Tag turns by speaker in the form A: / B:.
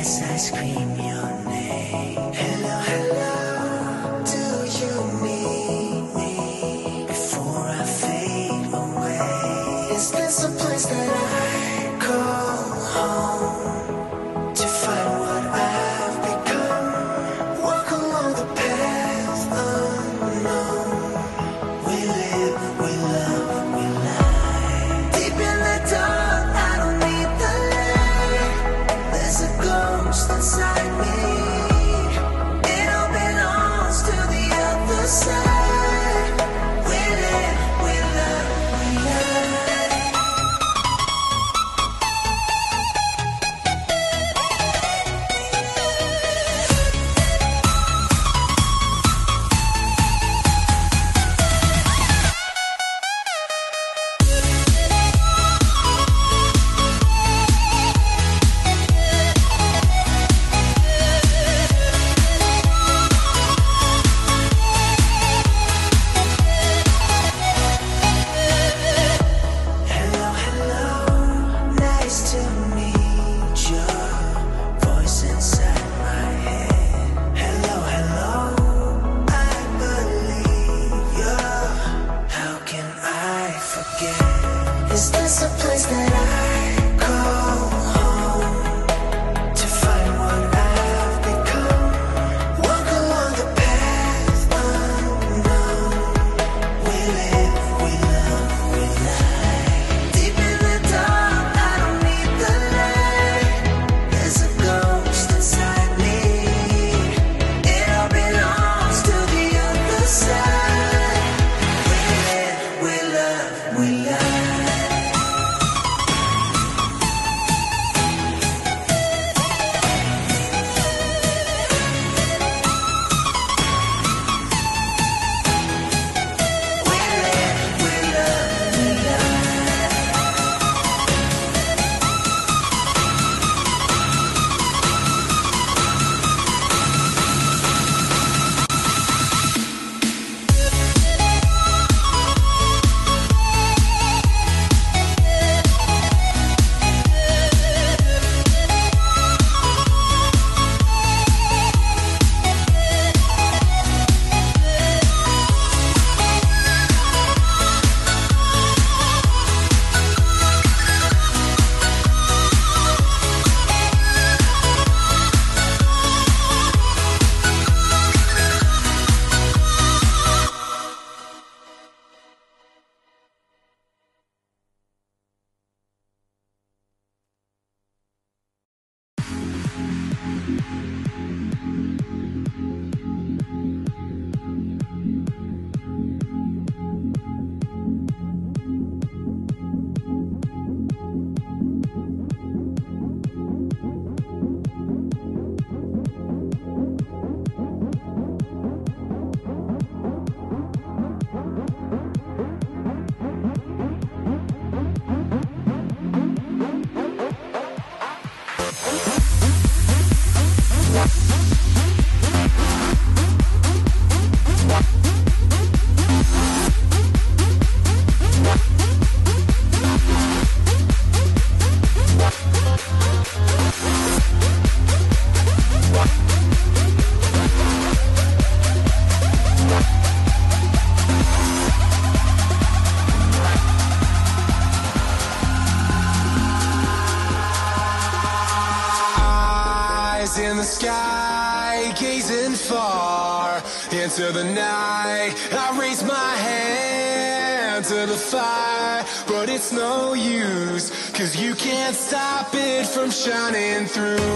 A: as I scream your name. Hello, hello, do you need me before I fade away? Is this a place that I call home to find what I've become? Walk along the path unknown. We live, we love, we lie. Deep in the dark, I don't need the light. There's a ghost inside me. It all belongs to the other side. We live, we love, we lie. Hello, hello, nice to meet you. Voice inside my head. Hello, hello, I believe you. How can I forget? Is this a place that I call home to find what I've become? Walk along the path unknown. We live, we love, we lie. Deep in the dark, I don't need the light. There's a ghost inside me. It all belongs to the other side. We live, we love, we lie. We live, we love, we lie.
B: Eyes in the sky, gazing far into the night. I raise my hand to the fire, but it's no use, 'cause you can't stop it from shining through.